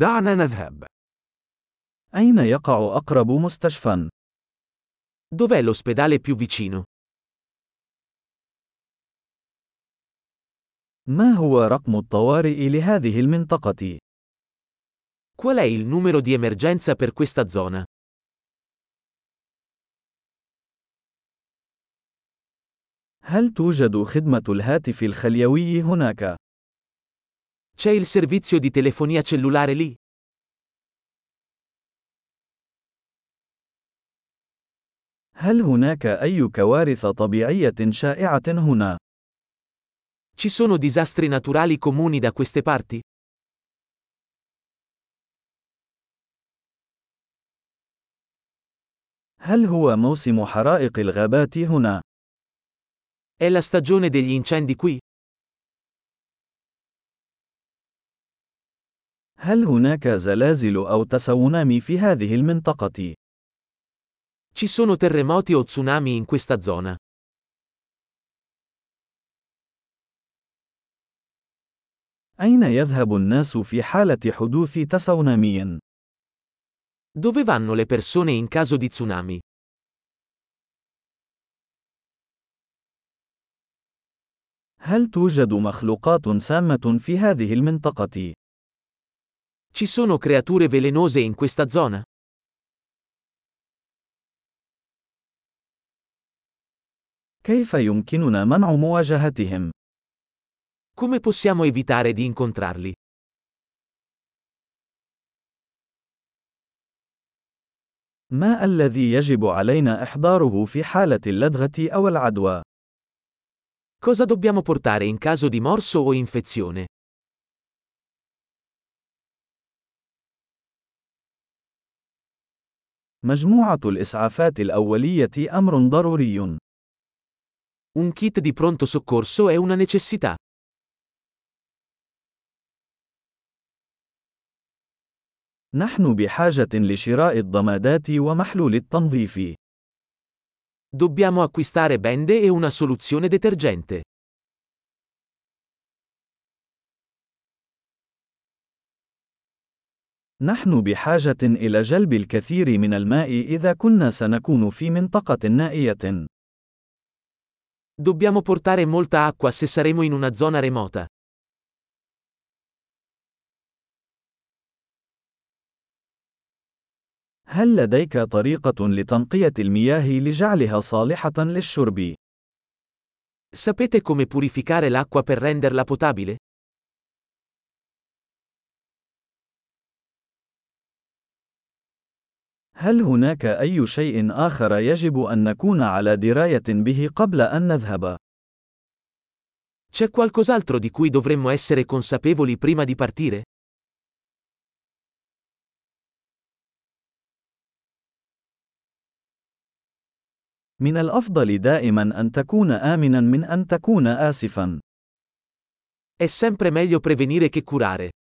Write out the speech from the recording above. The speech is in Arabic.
دعنا نذهب. أين يقع أقرب مستشفى؟ Dov'è l'ospedale più vicino? ما هو رقم الطوارئ لهذه المنطقة؟ Qual è il numero di emergenza per questa zona? هل توجد خدمة الهاتف الخليوي هناك؟ C'è il servizio di telefonia cellulare lì? هل هناك أي كوارث طبيعية شائعة هنا؟ Ci sono disastri naturali comuni da queste parti? هل هو موسم حرائق الغابات هنا؟ È la stagione degli incendi qui? هل هناك زلازل أو تسونامي في هذه المنطقة؟ Ci sono terremoti o tsunami in questa zona? أين يذهب الناس في حالة حدوث تسونامي؟ Dove vanno le persone in caso di tsunami? هل توجد مخلوقات سامة في هذه المنطقة؟ Ci sono creature velenose in questa zona? كيف يمكننا منع مواجهتهم؟ Come possiamo evitare di incontrarli? ما الذي يجب علينا إحضاره في حالة اللدغة أو العدوى؟ Cosa dobbiamo portare in caso di morso o infezione? مجموعة الإسعافات الأولية أمر ضروري. Un kit di pronto soccorso è una necessità. نحن بحاجة لشراء الضمادات ومحلول التنظيف. Dobbiamo acquistare bende e una soluzione detergente. نحن بحاجة إلى جلب الكثير من الماء إذا كنا سنكون في منطقة نائية. Dobbiamo portare molta acqua se saremo in una zona remota. هل لديك طريقة لتنقية المياه لجعلها صالحة للشرب؟ Sapete come purificare l'acqua per renderla potabile? هل هناك أي شيء آخر يجب أن نكون على دراية به قبل أن نذهب؟ C'è qualcos'altro di cui dovremmo essere consapevoli prima di partire? من الأفضل دائما أن تكون آمنا من أن تكون آسفا. È sempre meglio prevenire che curare.